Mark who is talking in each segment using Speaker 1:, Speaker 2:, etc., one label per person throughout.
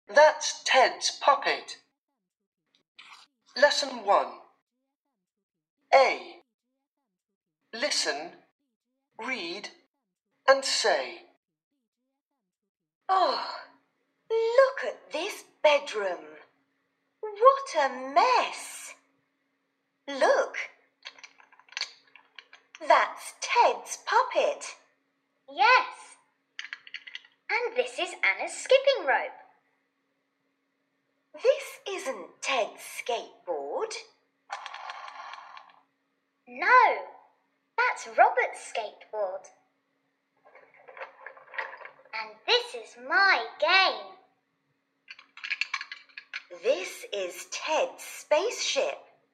Speaker 1: That's Ted's puppet. Lesson 1. A. Listen, read, and say.
Speaker 2: Oh, look at this bedroom. What a mess. Look. That's Ted's puppet.
Speaker 3: Yes. And this is Anna's skipping rope.
Speaker 2: This isn't Ted's skateboard.
Speaker 3: No, that's Robert's skateboard. And this is my game.
Speaker 2: This is Ted's spaceship.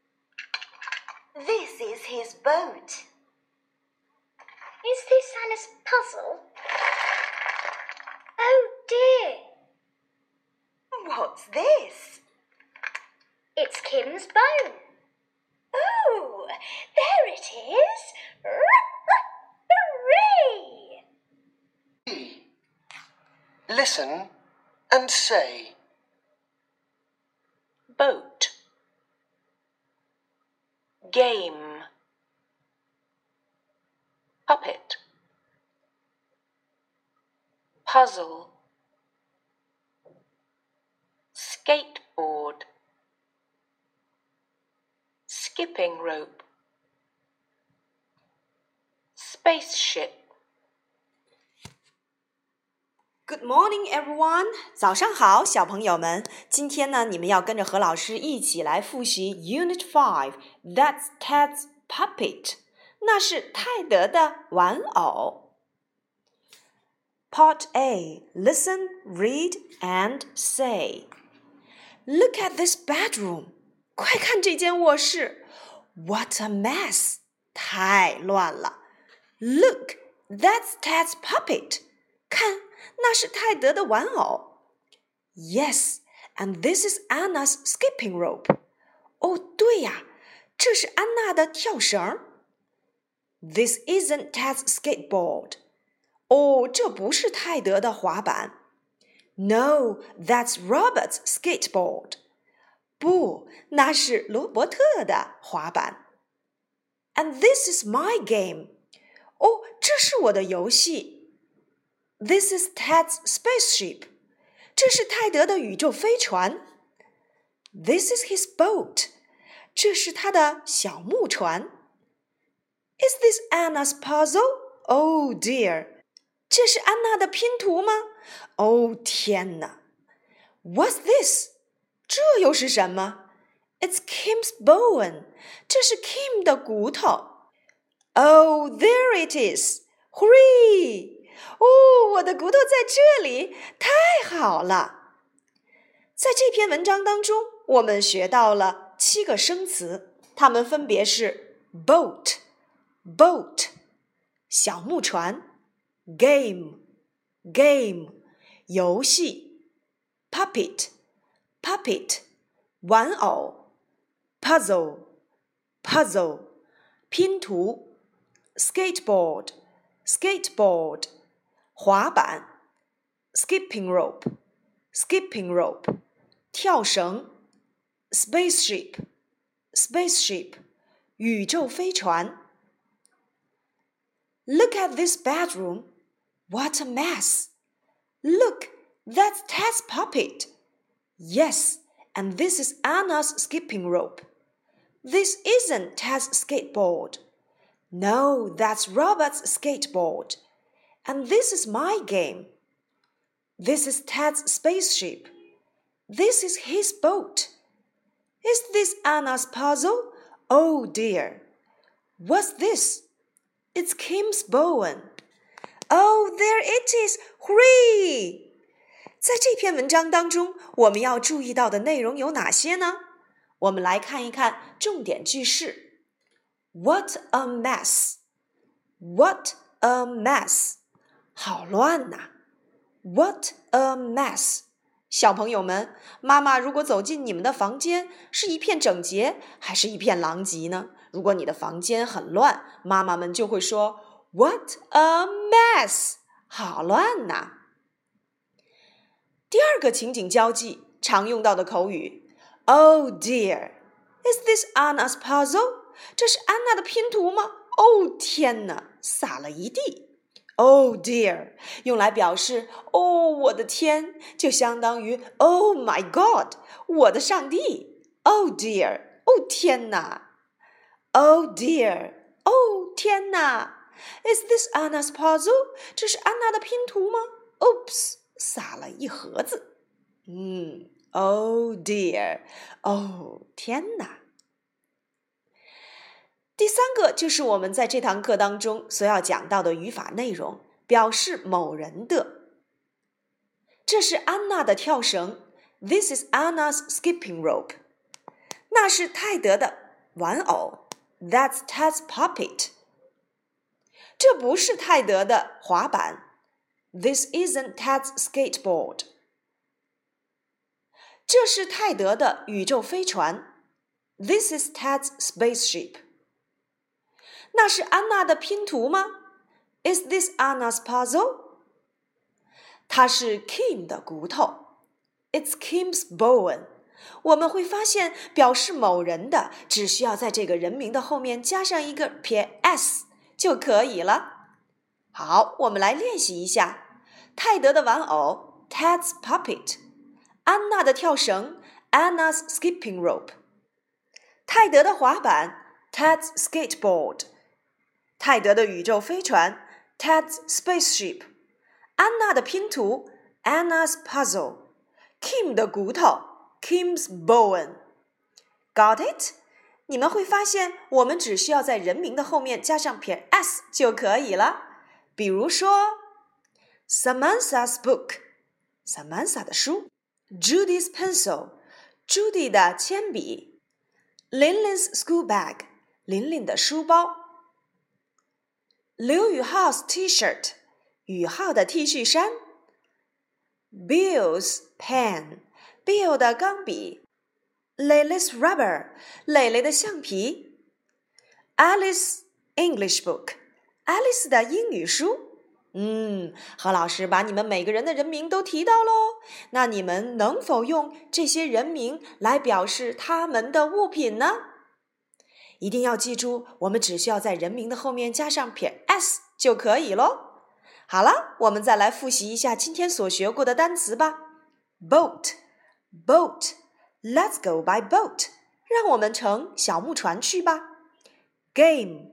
Speaker 2: This is his boat.
Speaker 3: Is this Anna's puzzle? Oh dear.
Speaker 2: What's this?
Speaker 3: It's Kim's bone.
Speaker 2: Oh, there it is. Hooray!
Speaker 1: B. Listen and say.
Speaker 4: Boat, game, puppet, puzzle, skateboard, skipping rope, spaceship.
Speaker 5: Good morning, everyone. 早上好，小朋友们。今天呢，你们要跟着何老师一起来复习 Unit 5. That's Ted's puppet. 那是泰德的玩偶。Part A. Listen, read, and say. Look at this bedroom. 快看这间卧室。What a mess. 太乱了。Look, that's Ted's puppet. 看。那是泰德的玩偶。Yes, and this is Anna's skipping rope. 哦，对呀，这是安娜的跳绳。This isn't Ted's skateboard. 哦，这不是泰德的滑板。No, that's Robert's skateboard. 不，那是罗伯特的滑板。And this is my game. 哦，这是我的游戏。This is Ted's spaceship. 这是泰德的宇宙飞船。This is his boat. 这是他的小木船。Is this Anna's puzzle? Oh dear. 这是安娜的拼图吗？哦，天哪。What's this? 这又是什么？ It's Kim's bone. 这是 Kim 的骨头。Oh, there it is. Hooray! 哦，我的骨头在这里，太好了！在这篇文章当中，我们学到了7个生词，它们分别是 boat, boat, 小木船 game, game, 游戏 puppet, puppet, 玩偶 puzzle, puzzle, 拼图 skateboard, skateboard, 滑板 skipping rope, skipping rope, 跳绳 spaceship, spaceship, 宇宙飞船。Look at this bedroom. What a mess. Look, that's Ted's puppet. Yes, and this is Anna's skipping rope. This isn't Ted's skateboard. No, that's Robert's skateboard. And this is my game. This is Ted's spaceship. This is his boat. Is this Anna's puzzle? Oh dear. What's this? It's Kim's bone. Oh, there it is. Hooray! 在这篇文章当中，我们要注意到的内容有哪些呢？我们来看一看重点句式。What a mess. What a mess. 好乱呐 What a mess. 小朋友们，妈妈如果走进你们的房间，是一片整洁，还是一片狼藉呢？如果你的房间很乱，妈妈们就会说 What a mess. 好乱呐。第第二个情景交际常用到的口语 Oh dear, is this Anna's puzzle? 这是安娜的拼图吗？哦天哪，洒了一地。Oh dear 用来表示哦我的天，就相当于 Oh my God 我的上帝。Oh dear 哦天哪。Oh dear 哦天哪。Is this Anna's puzzle? 这是安娜的拼图吗？ Oops 洒了一盒子。Oh dear 哦天哪。第三个就是我们在这堂课当中所要讲到的语法内容，表示某人的。这是安娜的跳绳 This is Anna's skipping rope. 那是泰德的玩偶 That's Ted's puppet. 这不是泰德的滑板 This isn't Ted's skateboard. 这是泰德的宇宙飞船 This is Ted's spaceship. 那是安娜的拼图吗 Is this Anna's puzzle? 它是 Kim 的骨头 It's Kim's bone. 我们会发现表示某人的只需要在这个人名的后面加上一个撇 s 就可以了。好，我们来练习一下泰德的玩偶 Ted's puppet. 安娜的跳绳 Anna's skipping rope. 泰德的滑板 Ted's skateboard. 泰德的宇宙飞船 Ted's spaceship. 安娜的拼图 Anna's puzzle. Kim 的骨头 Kim's bone. Got it? 你们会发现我们只需要在人名的后面加上撇 s 就可以了。比如说 Samantha's book. Samantha 的书 Judy's pencil. Judy 的铅笔 Linlin's school bag. 琳琳的书包刘宇浩 's T-shirt. 宇浩的 T 恤衫 Bill's pen. Bill 的钢笔 Lily's rubber. 蕾蕾的橡皮 Alice's English book. Alice 的英语书何老师把你们每个人的人名都提到咯，那你们能否用这些人名来表示他们的物品呢？一定要记住，我们只需要在人名的后面加上撇 s 就可以咯。好了，我们再来复习一下今天所学过的单词吧。Boat, boat, let's go by boat. 让我们乘小木船去吧。Game,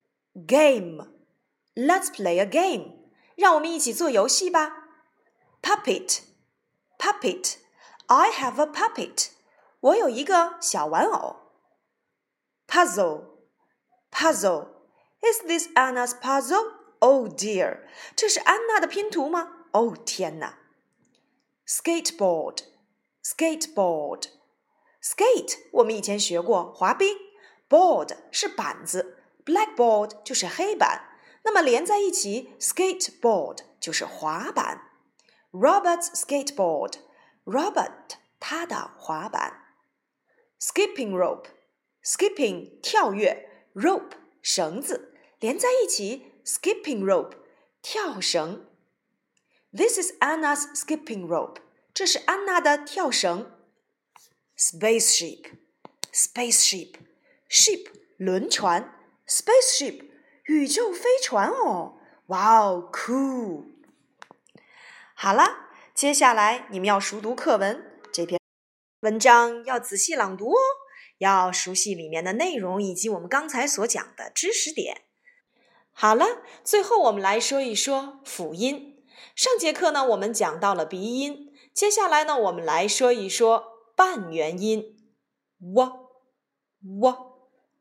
Speaker 5: game, let's play a game. 让我们一起做游戏吧。Puppet, puppet, I have a puppet. 我有一个小玩偶。Puzzle, puzzle, is this Anna's puzzle? Oh dear, 这是安娜的拼图吗？哦天哪。Skateboard, skateboard, skate 我们以前学过滑冰 board 是板子 blackboard 就是黑板，那么连在一起 skateboard 就是滑板。Robert's skateboard, Robert 他的滑板。Skipping rope, skipping 跳跃 rope 绳子，连在一起 skipping rope 跳绳。This is Anna's skipping rope. 这是安娜的跳绳。Spaceship, spaceship, ship 轮船 spaceship 宇宙飞船哦。哇哦 cool。好了，接下来你们要熟读课文，这篇文章要仔细朗读哦，要熟悉里面的内容以及我们刚才所讲的知识点。好了，最后我们来说一说辅音。上节课呢，我们讲到了鼻音，接下来呢，我们来说一说半元音 w、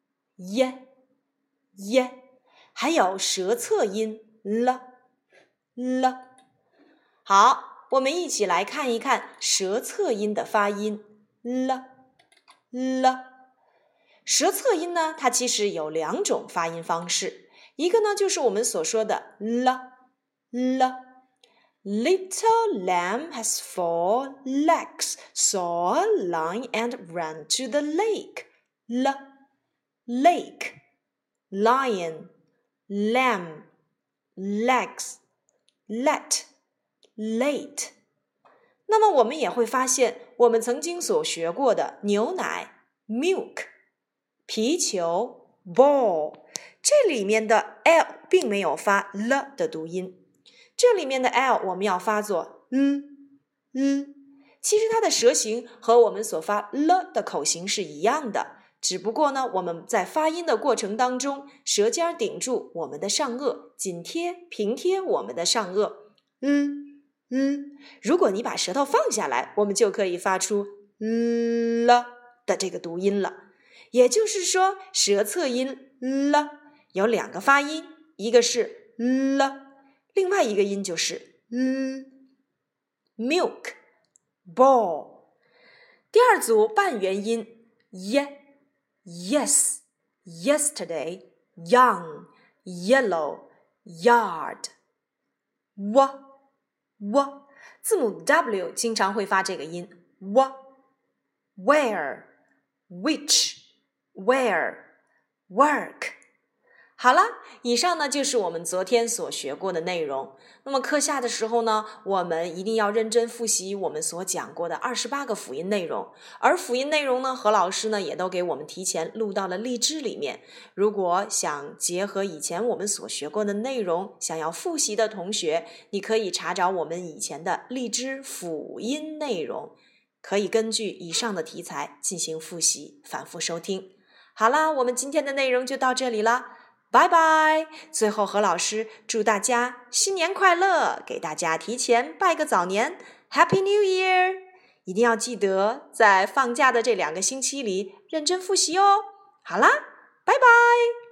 Speaker 5: 耶，还有舌侧音 l。好，我们一起来看一看舌侧音的发音 l。舌侧音呢，它其实有两种发音方式，一个呢就是我们所说的 Little lamb has 4 legs, saw a lion and ran to the lake. Lake, lion, lamb, legs, let, late. 那么我们也会发现，我们曾经所学过的牛奶 milk、皮球 ball， 这里面的 l 并没有发 l 的读音，这里面的 l 我们要发作其实它的舌形和我们所发 l 的口型是一样的，只不过呢，我们在发音的过程当中，舌尖顶住我们的上颚，紧贴平贴我们的上颚如果你把舌头放下来，我们就可以发出了的这个读音了。也就是说，舌侧音了有2个发音，一个是了，另外一个音就是milk ball。 第二组半元音 yes yesterday young yellow yard w 字母 W 经常会发这个音 where which where work。 好了，以上呢就是我们昨天所学过的内容。那么课下的时候呢，我们一定要认真复习我们所讲过的28个辅音内容，而辅音内容呢，何老师呢也都给我们提前录到了荔枝里面。如果想结合以前我们所学过的内容，想要复习的同学，你可以查找我们以前的荔枝辅音内容，可以根据以上的题材进行复习，反复收听。好啦，我们今天的内容就到这里啦，拜拜！最后何老师祝大家新年快乐，给大家提前拜个早年 Happy New Year！ 一定要记得在放假的这2个星期里认真复习哦。好啦，拜拜！